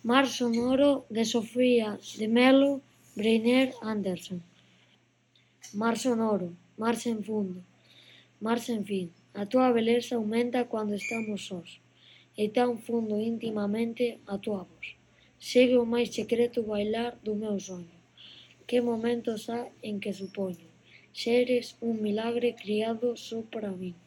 Mar sonoro de Sofía de Melo Breiner Anderson. Mar sonoro, mar sen fundo, mar sen fin. A túa beleza aumenta cando estamos sós, e tan fundo intimamente a túa voz. Segue o máis secreto bailar do meu soño. Que momentos ha en que supoño seres un milagre criado só para min.